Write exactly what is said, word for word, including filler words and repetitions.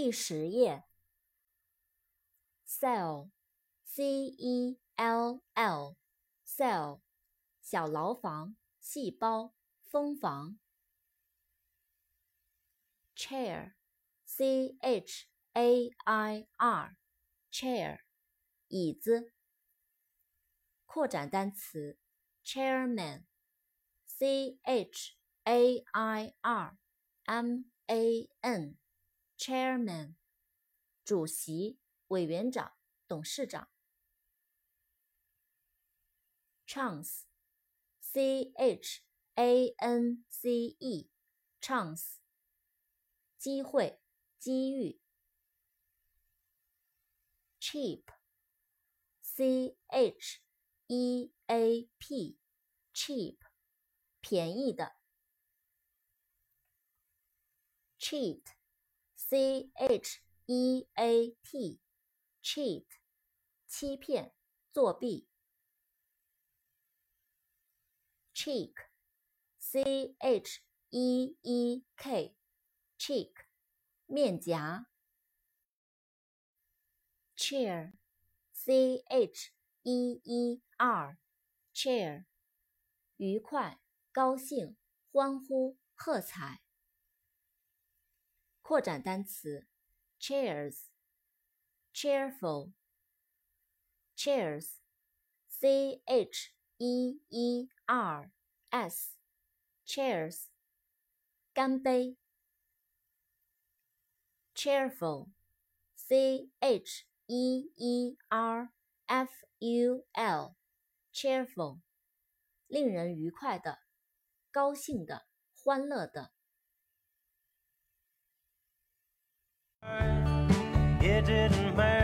第十页 cell C E L L cell 小牢房、细胞、蜂房。chair C H A I R chair 椅子。扩展单词 chairman C H A I R M A N chairman 主席、委员长、董事长。chance C H A N C E chance 机会、机遇。cheap C H E A P cheap 便宜的。cheat C H E A T cheat 欺骗、作弊。cheek C H E E K cheek 面颊。cheer C H E E R cheer 愉快、高兴、欢呼、喝彩。扩展单词 chairs cheerful chairs C H E E R S chairs 干杯。cheerful C H E E R F U L cheerful 令人愉快的、高兴的、欢乐的。 It didn't matter.